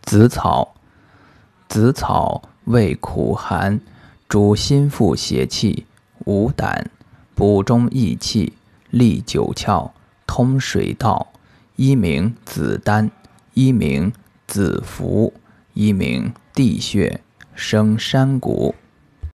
紫草，紫草味苦寒，主心腹邪气，无胆，补中益气，利九窍，通水道。一名紫丹，一名紫符，一名地穴，生山谷。